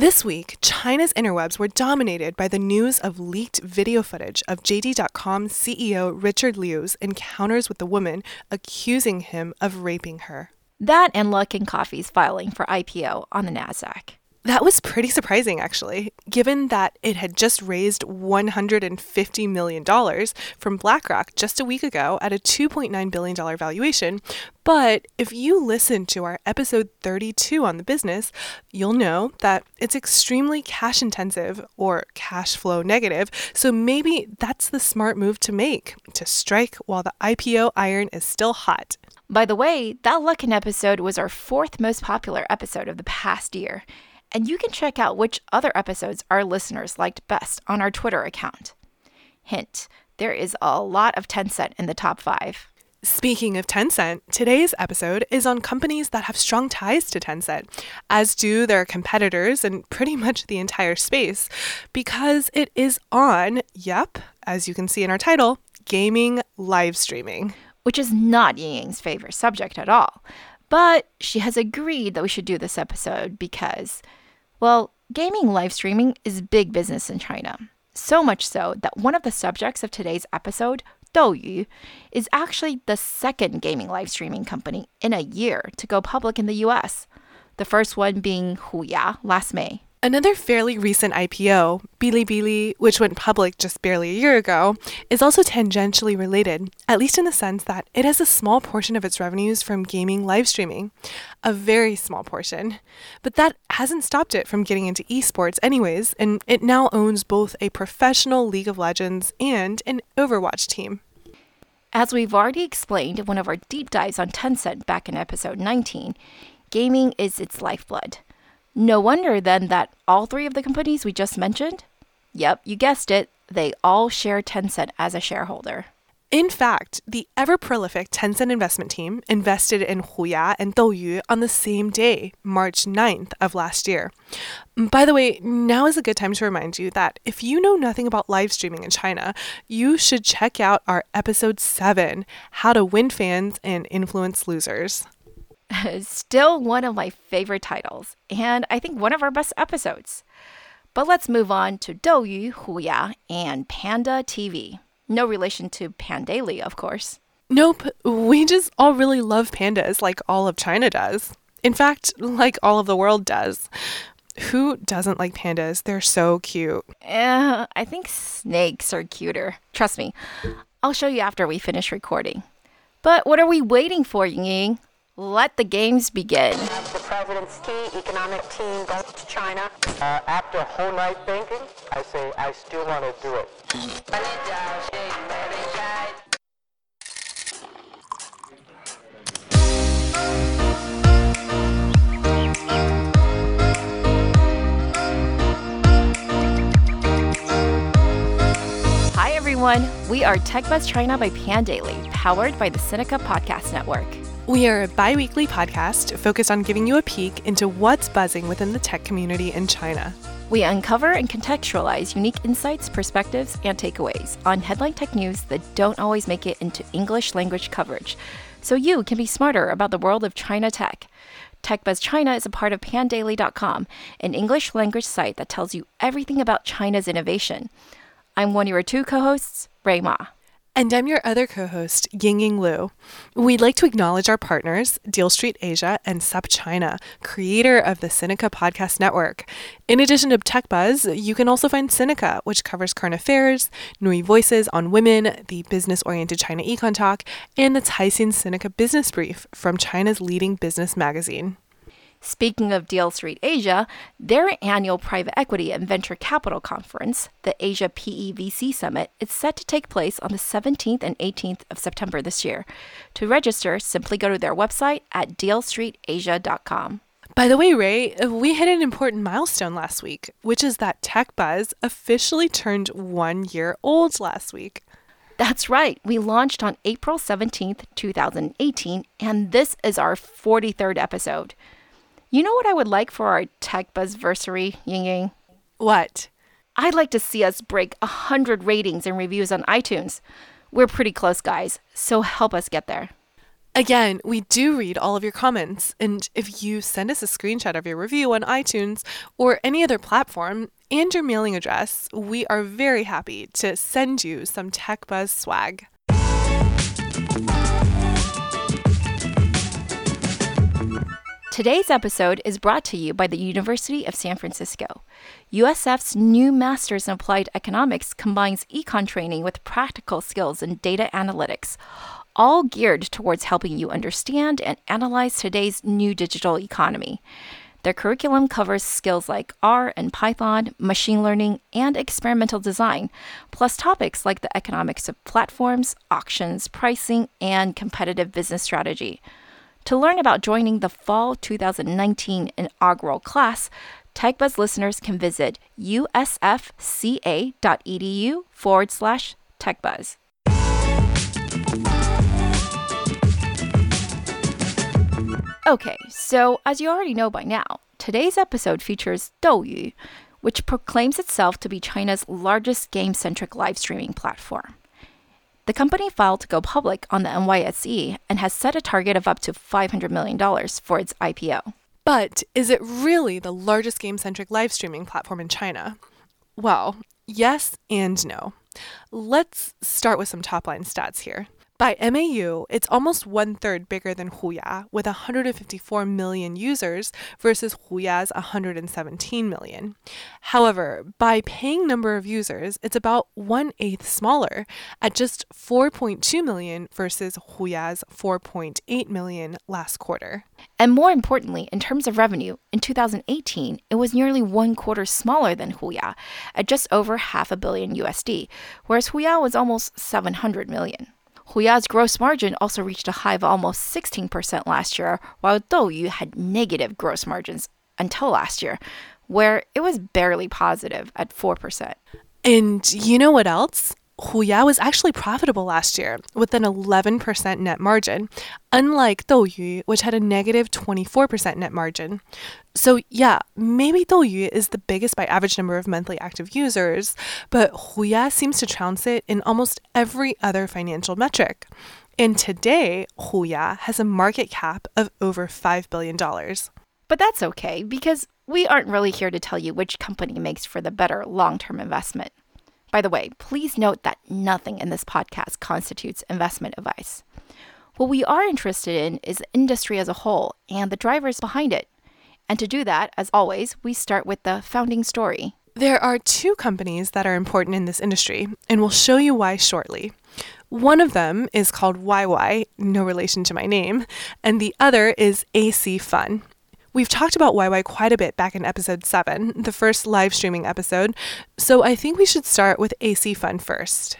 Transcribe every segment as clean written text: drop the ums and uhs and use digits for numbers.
This week, China's interwebs were dominated by the news of leaked video footage of JD.com CEO Richard Liu's encounters with the woman accusing him of raping her. That and Luckin Coffee's filing for IPO on the Nasdaq. That was pretty surprising, actually, given that it had just raised $150 million from BlackRock just a week ago at a $2.9 billion valuation. But if you listen to our episode 32 on the business, you'll know that it's extremely cash intensive or cash flow negative. So maybe that's the smart move to make, to strike while the IPO iron is still hot. By the way, that Luckin episode was our fourth most popular episode of the past year. And you can check out which other episodes our listeners liked best on our Twitter account. Hint, there is a lot of Tencent in the top 5. Speaking of Tencent, today's episode is on companies that have strong ties to Tencent, as do their competitors and pretty much the entire space, because it is on, as you can see in our title, gaming live streaming. Which is not Ying-Ying's favorite subject at all. But she has agreed that we should do this episode because, well, gaming live streaming is big business in China. So much so that one of the subjects of today's episode, Douyu, is actually the second gaming live streaming company in a year to go public in the US. The first one being Huya last May. Another fairly recent IPO, Bilibili, which went public just barely a year ago, is also tangentially related, at least in the sense that it has a small portion of its revenues from gaming live streaming. A very small portion. But that hasn't stopped it from getting into esports anyways, and it now owns both a professional League of Legends and an Overwatch team. As we've already explained in one of our deep dives on Tencent back in episode 19, gaming is its lifeblood. No wonder then that all three of the companies we just mentioned, yep, you guessed it, they all share Tencent as a shareholder. In fact, the ever-prolific Tencent investment team invested in Huya and Douyu on the same day, March 9th of last year. By the way, now is a good time to remind you that if you know nothing about live streaming in China, you should check out our episode 7, How to Win Fans and Influence Losers. Still one of my favorite titles, and I think one of our best episodes. But let's move on to Douyu, Huya, and Panda TV. No relation to Pandaily, of course. Nope, we just all really love pandas like all of China does. In fact, like all of the world does. Who doesn't like pandas? They're so cute. I think snakes are cuter. Trust me. I'll show you after we finish recording. But what are we waiting for, Ying-Ying? Let the games begin. The president's key economic team goes to China. After a whole night thinking, I say I still want to do it. Hi everyone, we are TechBuzz China by Pandaily, powered by the Sinica Podcast Network. We are a bi-weekly podcast focused on giving you a peek into what's buzzing within the tech community in China. We uncover and contextualize unique insights, perspectives, and takeaways on headline tech news that don't always make it into English language coverage, so you can be smarter about the world of China tech. TechBuzz China is a part of pandaily.com, an English language site that tells you everything about China's innovation. I'm one of your two co-hosts, Ray Ma. And I'm your other co-host, Ying-Ying Liu. We'd like to acknowledge our partners, Deal Street Asia and SupChina, creator of the Sinica Podcast Network. In addition to TechBuzz, you can also find Sinica, which covers current affairs, Nui Voices on Women, the business-oriented China Econ Talk, and the Caixin Sinica Business Brief from China's leading business magazine. Speaking of Deal Street Asia, their annual private equity and venture capital conference, the Asia PEVC Summit, is set to take place on the 17th and 18th of September this year. To register, simply go to their website at dealstreetasia.com. By the way, Ray, we hit an important milestone last week, which is that TechBuzz officially turned 1 year old last week. That's right. We launched on April 17th, 2018, and this is our 43rd episode. You know what I would like for our TechBuzzversary, Ying-Ying? What? I'd like to see us break 100 ratings and reviews on iTunes. We're pretty close, guys, so help us get there. Again, we do read all of your comments, and if you send us a screenshot of your review on iTunes or any other platform and your mailing address, we are very happy to send you some TechBuzz swag. Today's episode is brought to you by the University of San Francisco. USF's new Master's in Applied Economics combines econ training with practical skills in data analytics, all geared towards helping you understand and analyze today's new digital economy. Their curriculum covers skills like R and Python, machine learning, and experimental design, plus topics like the economics of platforms, auctions, pricing, and competitive business strategy. To learn about joining the fall 2019 inaugural class, TechBuzz listeners can visit usfca.edu/TechBuzz. Okay, so as you already know by now, today's episode features Douyu, which proclaims itself to be China's largest game-centric live streaming platform. The company filed to go public on the NYSE and has set a target of up to $500 million for its IPO. But is it really the largest game-centric live streaming platform in China? Well, yes and no. Let's start with some top-line stats here. By MAU, it's almost one-third bigger than Huya, with 154 million users versus Huya's 117 million. However, by paying number of users, it's about 1/8 smaller, at just 4.2 million versus Huya's 4.8 million last quarter. And more importantly, in terms of revenue, in 2018, it was nearly 1/4 smaller than Huya, at just over $500 million USD, whereas Huya was almost 700 million. Huya's gross margin also reached a high of almost 16% last year, while Douyu had negative gross margins until last year, where it was barely positive at 4%. And you know what else? Huya was actually profitable last year with an 11% net margin, unlike Douyu, which had a negative 24% net margin. So yeah, maybe Douyu is the biggest by average number of monthly active users, but Huya seems to trounce it in almost every other financial metric. And today, Huya has a market cap of over $5 billion. But that's okay, because we aren't really here to tell you which company makes for the better long-term investment. By the way, please note that nothing in this podcast constitutes investment advice. What we are interested in is the industry as a whole and the drivers behind it. And to do that, as always, we start with the founding story. There are two companies that are important in this industry, and we'll show you why shortly. One of them is called YY, no relation to my name, and the other is AC Fun. We've talked about YY quite a bit back in episode 7, the first live streaming episode, so I think we should start with AC Fun first.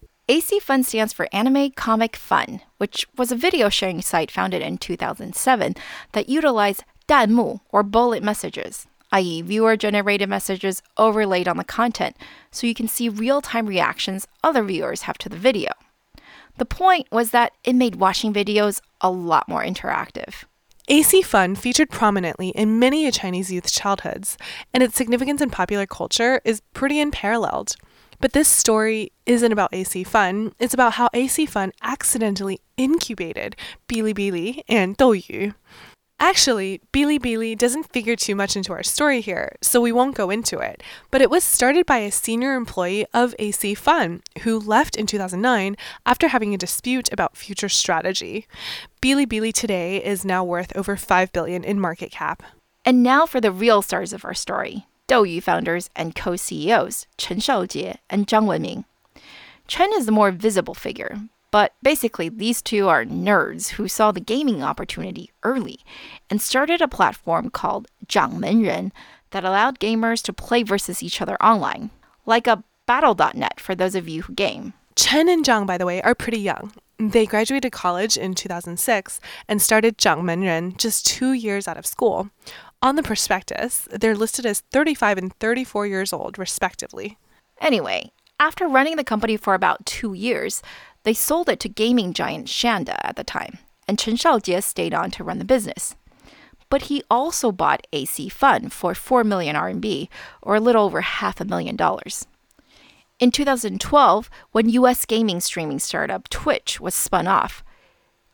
AC Fun stands for Anime Comic Fun, which was a video sharing site founded in 2007 that utilized 弹幕, or bullet messages, i.e. viewer-generated messages overlaid on the content, so you can see real-time reactions other viewers have to the video. The point was that it made watching videos a lot more interactive. AC Fun featured prominently in many a Chinese youth's childhoods, and its significance in popular culture is pretty unparalleled. But this story isn't about AC Fun, it's about how AC Fun accidentally incubated Bilibili and Douyu. Actually, Bilibili doesn't figure too much into our story here, so we won't go into it, but it was started by a senior employee of AC Fun who left in 2009 after having a dispute about future strategy. Bilibili today is now worth over $5 billion in market cap. And now for the real stars of our story, Douyu founders and co-CEOs, Chen Shaojie and Zhang Wenming. Chen is the more visible figure, but basically these two are nerds who saw the gaming opportunity early and started a platform called 掌门人 that allowed gamers to play versus each other online, like a battle.net for those of you who game. Chen and Zhang, by the way, are pretty young. They graduated college in 2006 and started 掌门人just 2 years out of school. On the prospectus, they're listed as 35 and 34 years old, respectively. Anyway, after running the company for about 2 years, they sold it to gaming giant Shanda at the time, and Chen Shaojie stayed on to run the business. But he also bought AC Fun for 4 million RMB, or a little over $500,000. In 2012, when US gaming streaming startup Twitch was spun off,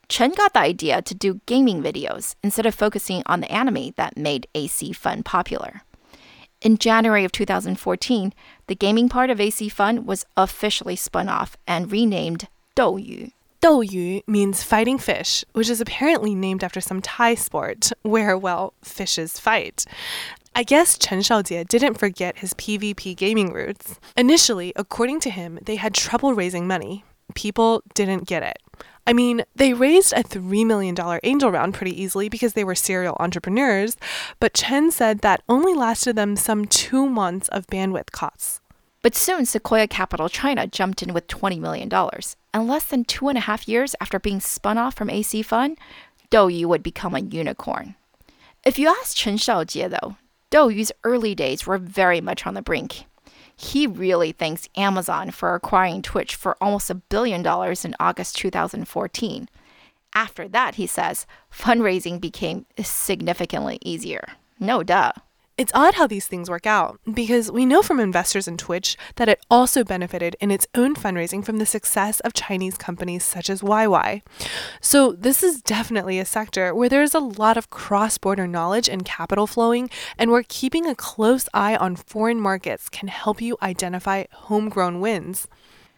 Chen got the idea to do gaming videos instead of focusing on the anime that made AC Fun popular. In January of 2014, the gaming part of AC Fun was officially spun off and renamed Douyu. Douyu means fighting fish, which is apparently named after some Thai sport where, well, fishes fight. I guess Chen Shaojie didn't forget his PvP gaming roots. Initially, according to him, they had trouble raising money. People didn't get it. I mean, they raised a $3 million angel round pretty easily because they were serial entrepreneurs, but Chen said that only lasted them some 2 months of bandwidth costs. But soon, Sequoia Capital China jumped in with $20 million. And less than 2.5 years after being spun off from AC Fun, Douyu would become a unicorn. If you ask Chen Shaojie, though, Douyu's early days were very much on the brink. He really thanks Amazon for acquiring Twitch for almost $1 billion in August 2014. After that, he says, fundraising became significantly easier. No duh. It's odd how these things work out, because we know from investors in Twitch that it also benefited in its own fundraising from the success of Chinese companies such as YY. So this is definitely a sector where there's a lot of cross-border knowledge and capital flowing, and where keeping a close eye on foreign markets can help you identify homegrown wins.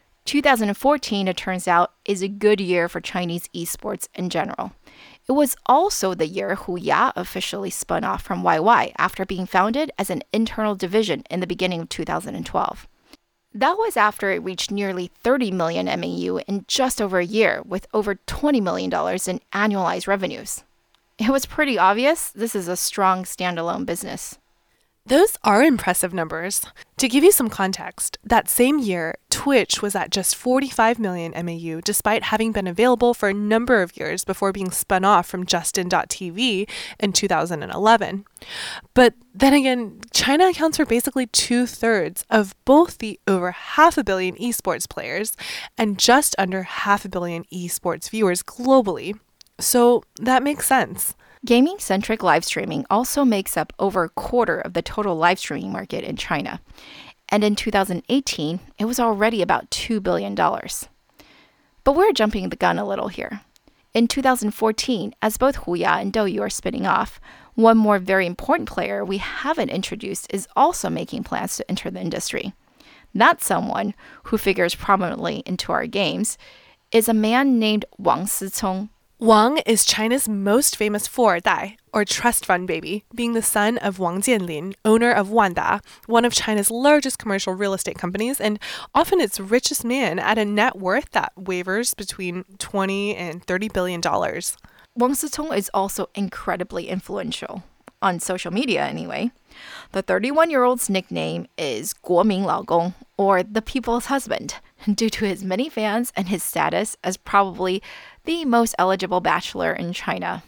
2014, it turns out, is a good year for Chinese esports in general. It was also the year Huya officially spun off from YY after being founded as an internal division in the beginning of 2012. That was after it reached nearly 30 million MAU in just over a year, with over $20 million in annualized revenues. It was pretty obvious this is a strong standalone business. Those are impressive numbers. To give you some context, that same year, Twitch was at just 45 million MAU despite having been available for a number of years before being spun off from Justin.tv in 2011. But then again, China accounts for basically 2/3 of both the over 500 million esports players and just under 500 million esports viewers globally. So that makes sense. Gaming-centric live streaming also makes up over a quarter of the total live streaming market in China. And in 2018, it was already about $2 billion. But we're jumping the gun a little here. In 2014, as both Huya and Douyu are spinning off, one more very important player we haven't introduced is also making plans to enter the industry. That someone, who figures prominently into our games, is a man named Wang Sicong. Wang is China's most famous 富二代, or trust fund baby, being the son of Wang Jianlin, owner of Wanda, one of China's largest commercial real estate companies, and often its richest man at a net worth that wavers between $20 and $30 billion. Wang Sicong is also incredibly influential, on social media anyway. The 31-year-old's nickname is 国民老公, or the people's husband, due to his many fans and his status as probably the most eligible bachelor in China.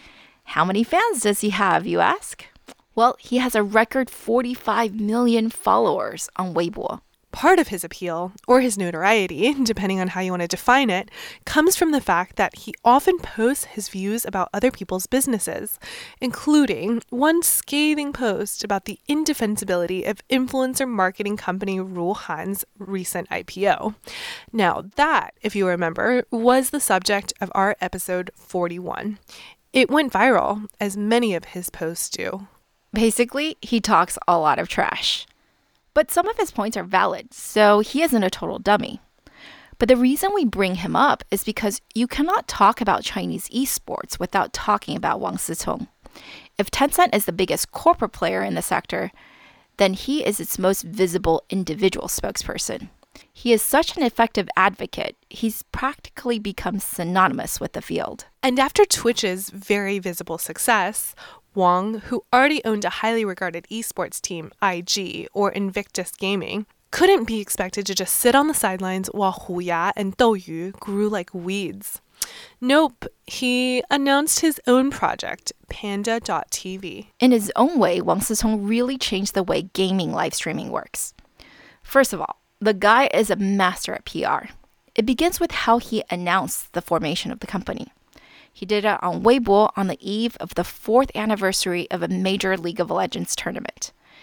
How many fans does he have, you ask? Well, he has a record 45 million followers on Weibo. Part of his appeal, or his notoriety, depending on how you want to define it, comes from the fact that he often posts his views about other people's businesses, including one scathing post about the indefensibility of influencer marketing company Ruhan's recent IPO. Now that, if you remember, was the subject of our episode 41. It went viral, as many of his posts do. Basically, he talks a lot of trash. But some of his points are valid, so he isn't a total dummy. But the reason we bring him up is because you cannot talk about Chinese esports without talking about Wang Sicong. If Tencent is the biggest corporate player in the sector, then he is its most visible individual spokesperson. He is such an effective advocate, he's practically become synonymous with the field. And after Twitch's very visible success, Wang, who already owned a highly regarded esports team, IG, or Invictus Gaming, couldn't be expected to just sit on the sidelines while Huya and Douyu grew like weeds. Nope, he announced his own project, Panda.tv. In his own way, Wang Sicong really changed the way gaming live streaming works. First of all, the guy is a master at PR. It begins with how he announced the formation of the company. He did it on Weibo on the eve of the 4th anniversary of a major League of Legends tournament.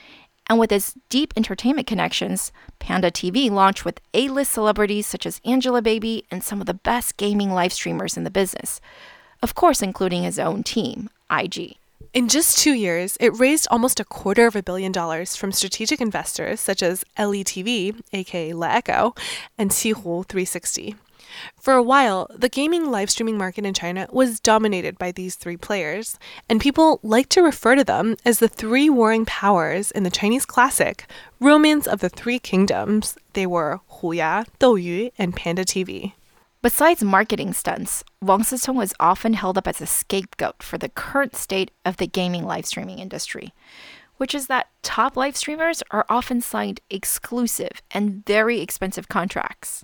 And with its deep entertainment connections, Panda TV launched with A-list celebrities such as Angelababy and some of the best gaming live streamers in the business. Of course, including his own team, IG. In just 2 years, it raised almost $250 million from strategic investors such as LETV, aka LeEcho, and Qihoo 360. For a while, the gaming live streaming market in China was dominated by these three players, and people like to refer to them as the three warring powers in the Chinese classic Romance of the Three Kingdoms. They were Huya, Douyu, and Panda TV. Besides marketing stunts, Wang Sicong was often held up as a scapegoat for the current state of the gaming live streaming industry, which is that top live streamers are often signed exclusive and very expensive contracts.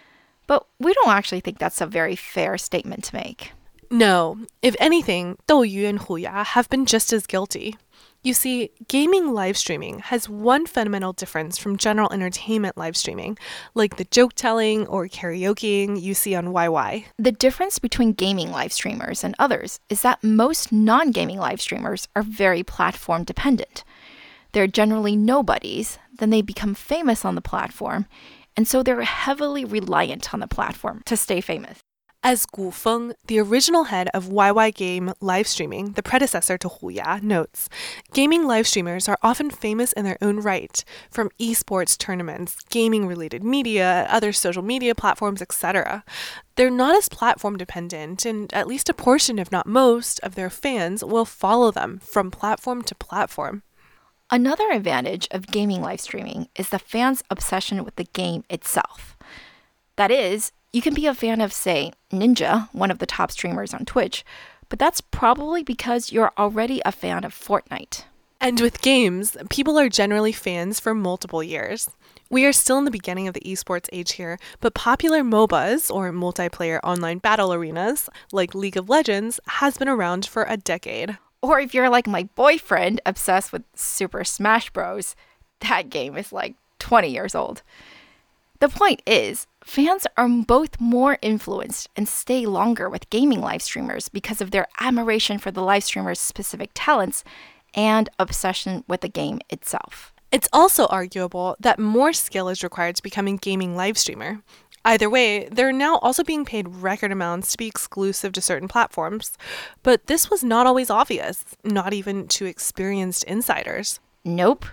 But we don't actually think that's a very fair statement to make. No, if anything, Douyu and Huya have been just as guilty. You see, gaming live streaming has one fundamental difference from general entertainment live streaming, like the joke telling or karaokeing you see on YY. The difference between gaming live streamers and others is that most non-gaming live streamers are very platform dependent. They're generally nobodies, then they become famous on the platform, and so they're heavily reliant on the platform to stay famous. As Gu Feng, the original head of YY Game live streaming, the predecessor to Huya, notes, gaming live streamers are often famous in their own right, from esports tournaments, gaming-related media, other social media platforms, etc. They're not as platform dependent, and at least a portion, if not most, of their fans will follow them from platform to platform. Another advantage of gaming live streaming is the fans' obsession with the game itself. That is, you can be a fan of, say, Ninja, one of the top streamers on Twitch, but that's probably because you're already a fan of Fortnite. And with games, people are generally fans for multiple years. We are still in the beginning of the esports age here, but popular MOBAs, or multiplayer online battle arenas, like League of Legends, has been around for a decade. Or if you're like my boyfriend, obsessed with Super Smash Bros., that game is like 20 years old. The point is, fans are both more influenced and stay longer with gaming live streamers because of their admiration for the live streamer's specific talents and obsession with the game itself. It's also arguable that more skill is required to become a gaming live streamer. Either way, they're now also being paid record amounts to be exclusive to certain platforms. But this was not always obvious, not even to experienced insiders. Nope.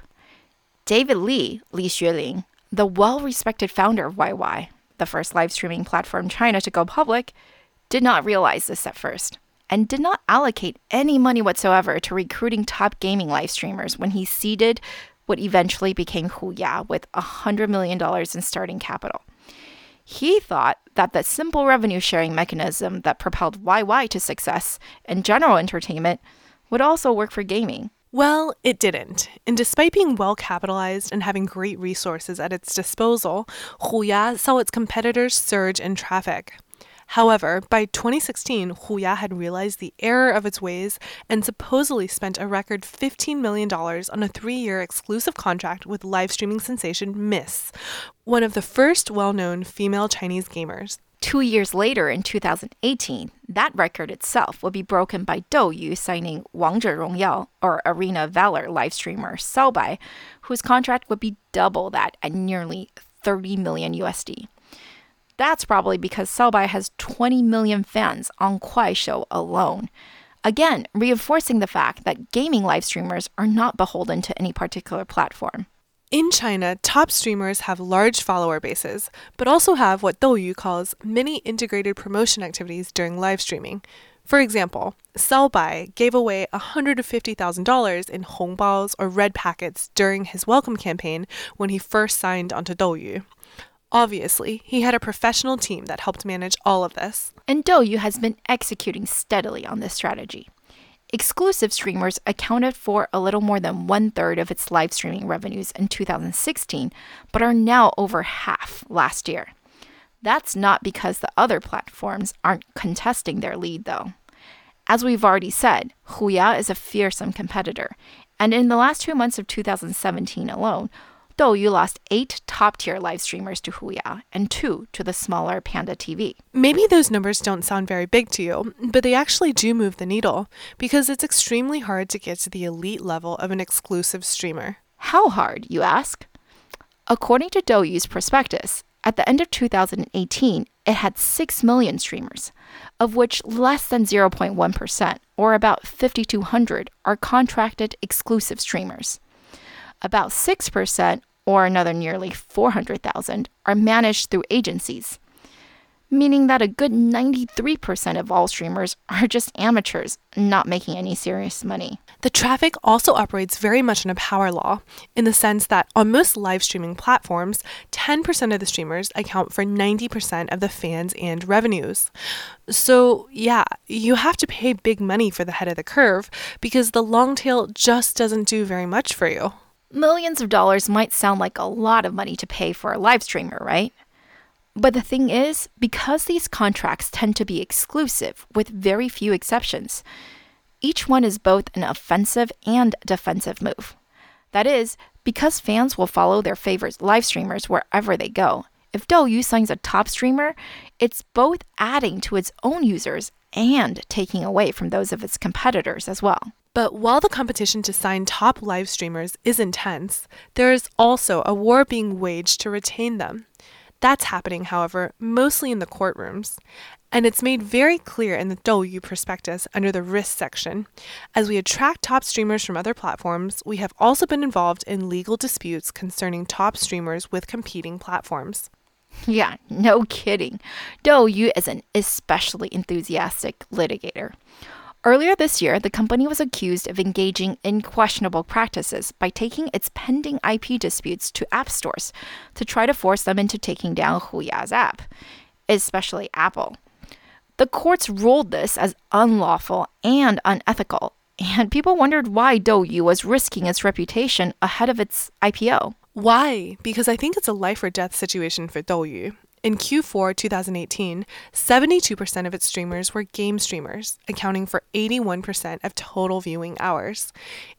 David Li Xueling, the well-respected founder of YY, the first live streaming platform in China to go public, did not realize this at first and did not allocate any money whatsoever to recruiting top gaming live streamers when he seeded what eventually became Huya with $100 million in starting capital. He thought that the simple revenue sharing mechanism that propelled YY to success in general entertainment would also work for gaming. Well, it didn't. And despite being well capitalized and having great resources at its disposal, Huya saw its competitors surge in traffic. However, by 2016, Huya had realized the error of its ways and supposedly spent a record $15 million on a 3-year exclusive contract with live streaming sensation Miss, one of the first well-known female Chinese gamers. 2 years later, in 2018, that record itself will be broken by Douyu signing 王者荣耀, or Arena of Valor live streamer Sao Bai, whose contract would be double that at nearly $30 million USD. That's probably because Sao Bai has 20 million fans on Kuaishou alone. Again, reinforcing the fact that gaming live streamers are not beholden to any particular platform. In China, top streamers have large follower bases, but also have what Douyu calls many integrated promotion activities during live streaming. For example, Sao Bai gave away $150,000 in hongbaos or red packets during his welcome campaign when he first signed onto Douyu. Obviously, he had a professional team that helped manage all of this. And Douyu has been executing steadily on this strategy. Exclusive streamers accounted for a little more than 1/3 of its live streaming revenues in 2016, but are now over half last year. That's not because the other platforms aren't contesting their lead, though. As we've already said, Huya is a fearsome competitor, and in the last 2 months of 2017 alone, Douyu lost 8 top-tier live streamers to Huya and 2 to the smaller Panda TV. Maybe those numbers don't sound very big to you, but they actually do move the needle, because it's extremely hard to get to the elite level of an exclusive streamer. How hard, you ask? According to Douyu's prospectus, at the end of 2018, it had 6 million streamers, of which less than 0.1%, or about 5,200, are contracted exclusive streamers. About 6%, or another nearly 400,000, are managed through agencies, meaning that a good 93% of all streamers are just amateurs, not making any serious money. The traffic also operates very much on a power law, in the sense that on most live streaming platforms, 10% of the streamers account for 90% of the fans and revenues. So yeah, you have to pay big money for the head of the curve because the long tail just doesn't do very much for you. Millions of dollars might sound like a lot of money to pay for a live streamer, right? But the thing is, because these contracts tend to be exclusive with very few exceptions, each one is both an offensive and defensive move. That is, because fans will follow their favorite live streamers wherever they go. If Douyu signs a top streamer, it's both adding to its own users and taking away from those of its competitors as well. But while the competition to sign top live streamers is intense, there is also a war being waged to retain them. That's happening, however, mostly in the courtrooms. And it's made very clear in the Douyu prospectus under the risk section. As we attract top streamers from other platforms, we have also been involved in legal disputes concerning top streamers with competing platforms. Yeah, no kidding. Douyu is an especially enthusiastic litigator. Earlier this year, the company was accused of engaging in questionable practices by taking its pending IP disputes to app stores to try to force them into taking down Huya's app, especially Apple. The courts ruled this as unlawful and unethical, and people wondered why Douyu was risking its reputation ahead of its IPO. Why? Because I think it's a life or death situation for Douyu. In Q4 2018, 72% of its streamers were game streamers, accounting for 81% of total viewing hours.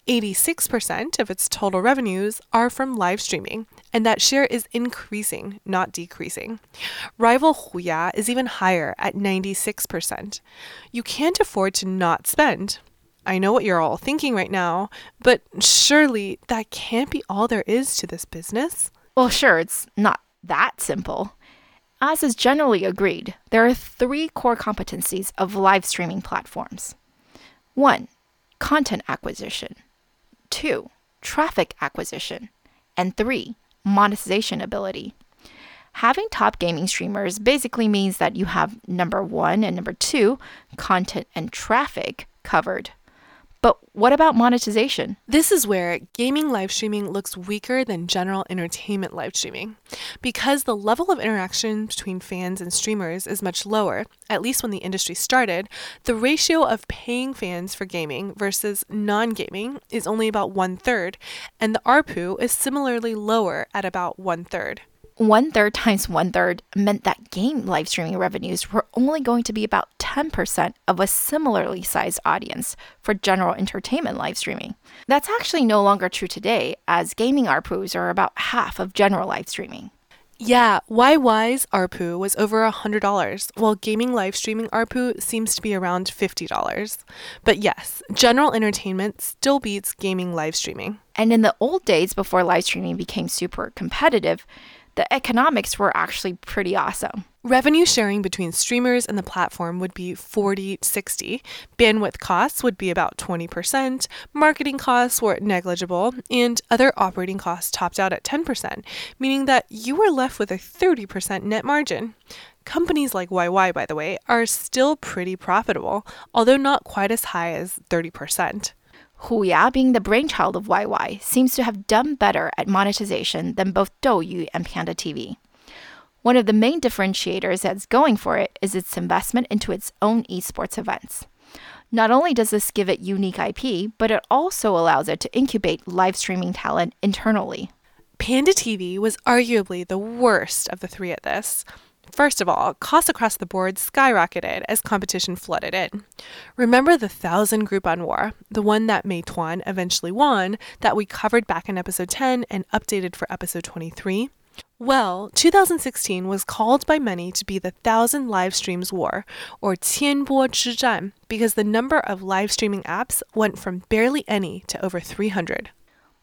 86% of its total revenues are from live streaming, and that share is increasing, not decreasing. Rival Huya is even higher at 96%. You can't afford to not spend. I know what you're all thinking right now, but surely that can't be all there is to this business? Well, sure, it's not that simple. As is generally agreed, there are 3 core competencies of live streaming platforms. 1. Content acquisition. 2. Traffic acquisition. And 3. Monetization ability. Having top gaming streamers basically means that you have number 1 and number 2, content and traffic, covered. But what about monetization? This is where gaming live streaming looks weaker than general entertainment live streaming. Because the level of interaction between fans and streamers is much lower, at least when the industry started, the ratio of paying fans for gaming versus non-gaming is only about 1/3, and the ARPU is similarly lower at about 1/3. 1/3 times 1/3 meant that game live streaming revenues were only going to be about 10% of a similarly sized audience for general entertainment live streaming. That's actually no longer true today, as gaming ARPUs are about half of general live streaming. Yeah, YY's ARPU was over $100, while gaming live streaming ARPU seems to be around $50. But yes, general entertainment still beats gaming live streaming. And in the old days before live streaming became super competitive, the economics were actually pretty awesome. Revenue sharing between streamers and the platform would be 40-60. Bandwidth costs would be about 20%. Marketing costs were negligible, and other operating costs topped out at 10%, meaning that you were left with a 30% net margin. Companies like YY, by the way, are still pretty profitable, although not quite as high as 30%. Huya, being the brainchild of YY, seems to have done better at monetization than both Douyu and Panda TV. One of the main differentiators that's going for it is its investment into its own esports events. Not only does this give it unique IP, but it also allows it to incubate live streaming talent internally. Panda TV was arguably the worst of the 3 at this. First of all, costs across the board skyrocketed as competition flooded in. Remember the 1,000 Groupon war, the one that Meituan eventually won, that we covered back in episode 10 and updated for episode 23? Well, 2016 was called by many to be the 1,000 live streams war, or 千波之战, because the number of live streaming apps went from barely any to over 300.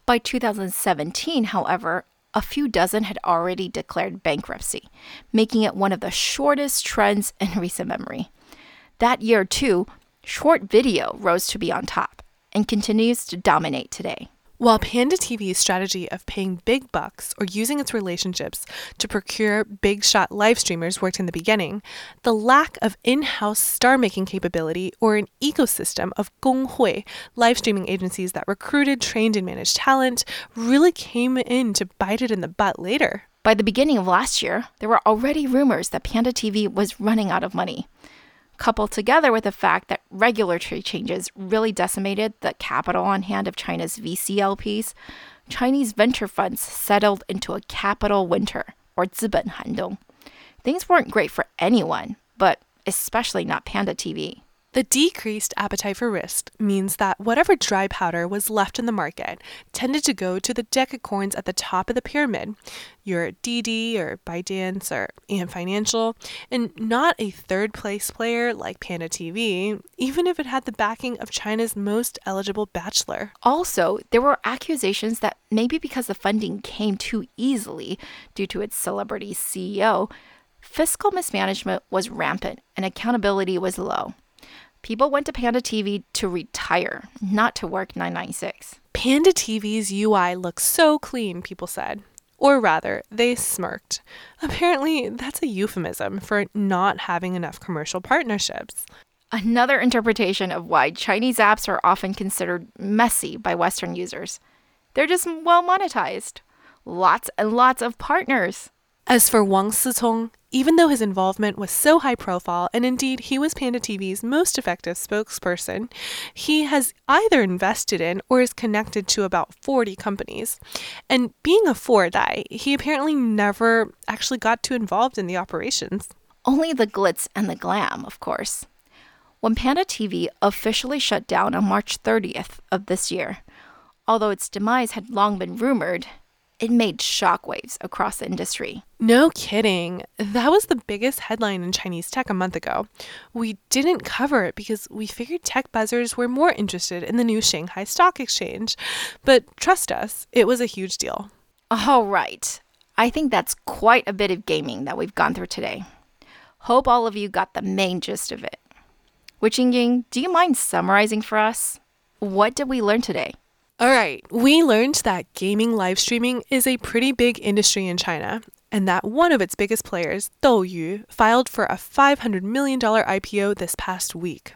By 2017, however, a few dozen had already declared bankruptcy, making it one of the shortest trends in recent memory. That year, too, short video rose to be on top and continues to dominate today. While Panda TV's strategy of paying big bucks or using its relationships to procure big shot live streamers worked in the beginning, the lack of in-house star-making capability or an ecosystem of gonghui, live streaming agencies that recruited, trained, and managed talent, really came in to bite it in the butt later. By the beginning of last year, there were already rumors that Panda TV was running out of money. Coupled together with the fact that regulatory changes really decimated the capital on hand of China's VCLPs, Chinese venture funds settled into a capital winter, or 资本寒冬. Things weren't great for anyone, but especially not Panda TV. The decreased appetite for risk means that whatever dry powder was left in the market tended to go to the decacorns at the top of the pyramid, your Didi or ByteDance or Ant Financial, and not a third-place player like Panda TV, even if it had the backing of China's most eligible bachelor. Also, there were accusations that maybe because the funding came too easily due to its celebrity CEO, fiscal mismanagement was rampant and accountability was low. People went to Panda TV to retire, not to work 996. Panda TV's UI looks so clean, people said. Or rather, they smirked. Apparently, that's a euphemism for not having enough commercial partnerships. Another interpretation of why Chinese apps are often considered messy by Western users. They're just well monetized. Lots and lots of partners. As for Wang Sicong, even though his involvement was so high profile, and indeed he was Panda TV's most effective spokesperson, he has either invested in or is connected to about 40 companies. And being a foredai, he apparently never actually got too involved in the operations. Only the glitz and the glam, of course. When Panda TV officially shut down on March 30th of this year, although its demise had long been rumored, it made shockwaves across the industry. No kidding. That was the biggest headline in Chinese tech a month ago. We didn't cover it because we figured tech buzzers were more interested in the new Shanghai Stock Exchange. But trust us, it was a huge deal. All right. I think that's quite a bit of gaming that we've gone through today. Hope all of you got the main gist of it. Wichingying, do you mind summarizing for us? What did we learn today? All right, we learned that gaming live streaming is a pretty big industry in China, and that one of its biggest players, Douyu, filed for a $500 million IPO this past week.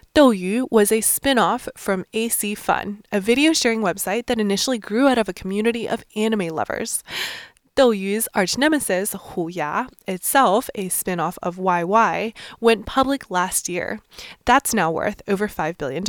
Douyu was a spin-off from AC Fun, a video sharing website that initially grew out of a community of anime lovers. Douyu's arch nemesis, Huya, itself a spin-off of YY, went public last year. That's now worth over $5 billion.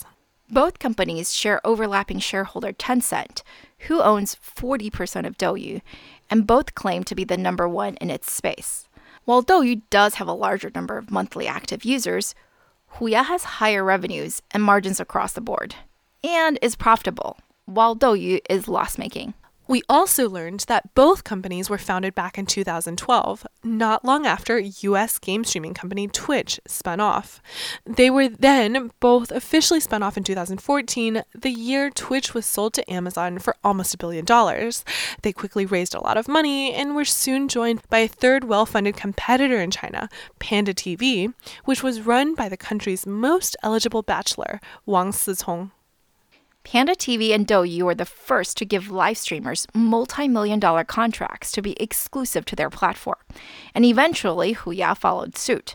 Both companies share overlapping shareholder Tencent, who owns 40% of Douyu, and both claim to be the number one in its space. While Douyu does have a larger number of monthly active users, Huya has higher revenues and margins across the board, and is profitable, while Douyu is loss-making. We also learned that both companies were founded back in 2012, not long after US game streaming company Twitch spun off. They were then both officially spun off in 2014, the year Twitch was sold to Amazon for almost $1 billion. They quickly raised a lot of money and were soon joined by a third well-funded competitor in China, Panda TV, which was run by the country's most eligible bachelor, Wang Sicong. Panda TV and Douyu were the first to give live streamers multi-million-dollar contracts to be exclusive to their platform, and eventually Huya followed suit.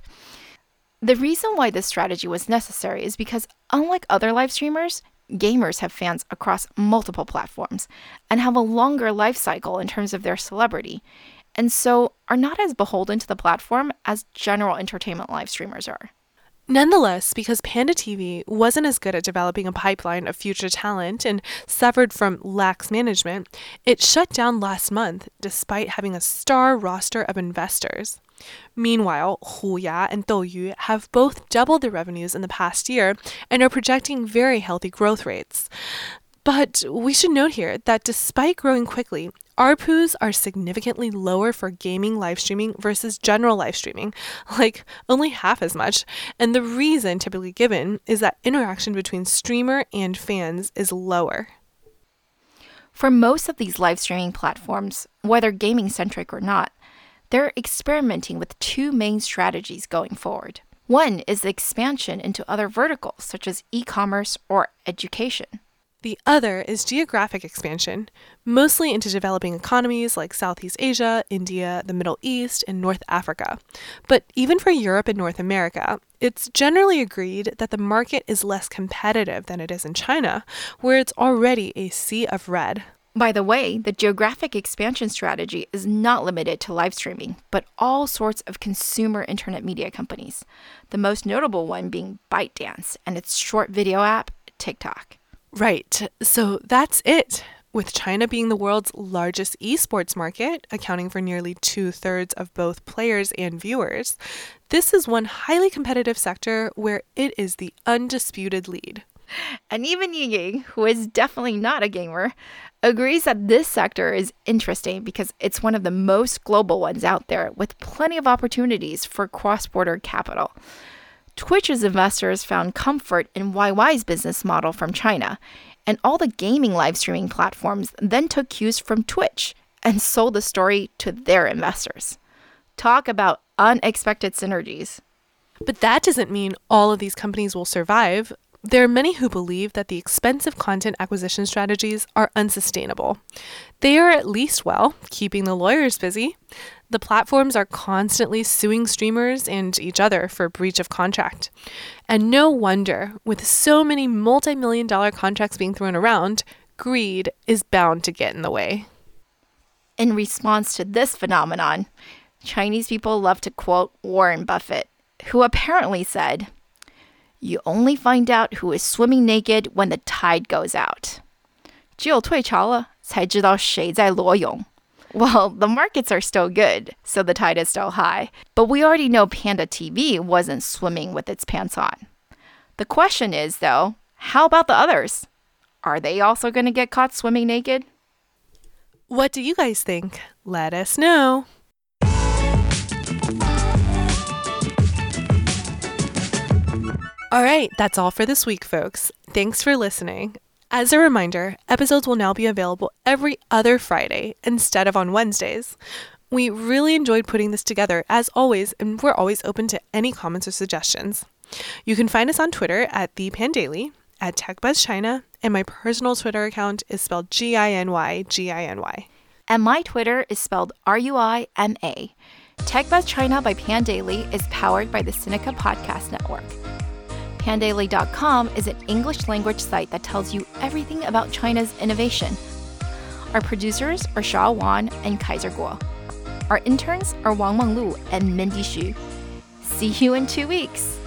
The reason why this strategy was necessary is because, unlike other live streamers, gamers have fans across multiple platforms and have a longer life cycle in terms of their celebrity, and so are not as beholden to the platform as general entertainment live streamers are. Nonetheless, because Panda TV wasn't as good at developing a pipeline of future talent and suffered from lax management, it shut down last month despite having a star roster of investors. Meanwhile, Huya and Douyu have both doubled their revenues in the past year and are projecting very healthy growth rates. But we should note here that despite growing quickly, ARPUs are significantly lower for gaming live streaming versus general live streaming, like only half as much. And the reason typically given is that interaction between streamer and fans is lower. For most of these live streaming platforms, whether gaming-centric or not, they're experimenting with two main strategies going forward. One is the expansion into other verticals, such as e-commerce or education. The other is geographic expansion, mostly into developing economies like Southeast Asia, India, the Middle East, and North Africa. But even for Europe and North America, it's generally agreed that the market is less competitive than it is in China, where it's already a sea of red. By the way, the geographic expansion strategy is not limited to live streaming, but all sorts of consumer internet media companies. The most notable one being ByteDance and its short video app, TikTok. Right, so that's it. With China being the world's largest esports market, accounting for nearly 2/3 of both players and viewers, this is one highly competitive sector where it is the undisputed lead. And even Ying, who is definitely not a gamer, agrees that this sector is interesting because it's one of the most global ones out there with plenty of opportunities for cross-border capital. Twitch's investors found comfort in YY's business model from China, and all the gaming live streaming platforms then took cues from Twitch and sold the story to their investors. Talk about unexpected synergies. But that doesn't mean all of these companies will survive. There are many who believe that the expensive content acquisition strategies are unsustainable. They are at least, well, keeping the lawyers busy. The platforms are constantly suing streamers and each other for breach of contract. And no wonder, with so many multi-million-dollar contracts being thrown around, greed is bound to get in the way. In response to this phenomenon, Chinese people love to quote Warren Buffett, who apparently said, "You only find out who is swimming naked when the tide goes out. 只有退潮了，才知道谁在裸泳." Well, the markets are still good, so the tide is still high. But we already know Panda TV wasn't swimming with its pants on. The question is, though, how about the others? Are they also going to get caught swimming naked? What do you guys think? Let us know. All right, that's all for this week, folks. Thanks for listening. As a reminder, episodes will now be available every other Friday instead of on Wednesdays. We really enjoyed putting this together, as always, and we're always open to any comments or suggestions. You can find us on Twitter at ThePanDaily, at TechBuzzChina, and my personal Twitter account is spelled GINY. And my Twitter is spelled RUIMA. TechBuzz China by Pandaily is powered by the Sinica Podcast Network. Pandaily.com is an English language site that tells you everything about China's innovation. Our producers are Shao Wan and Kaiser Guo. Our interns are Wang Menglu and Mindy Xu. See you in 2 weeks.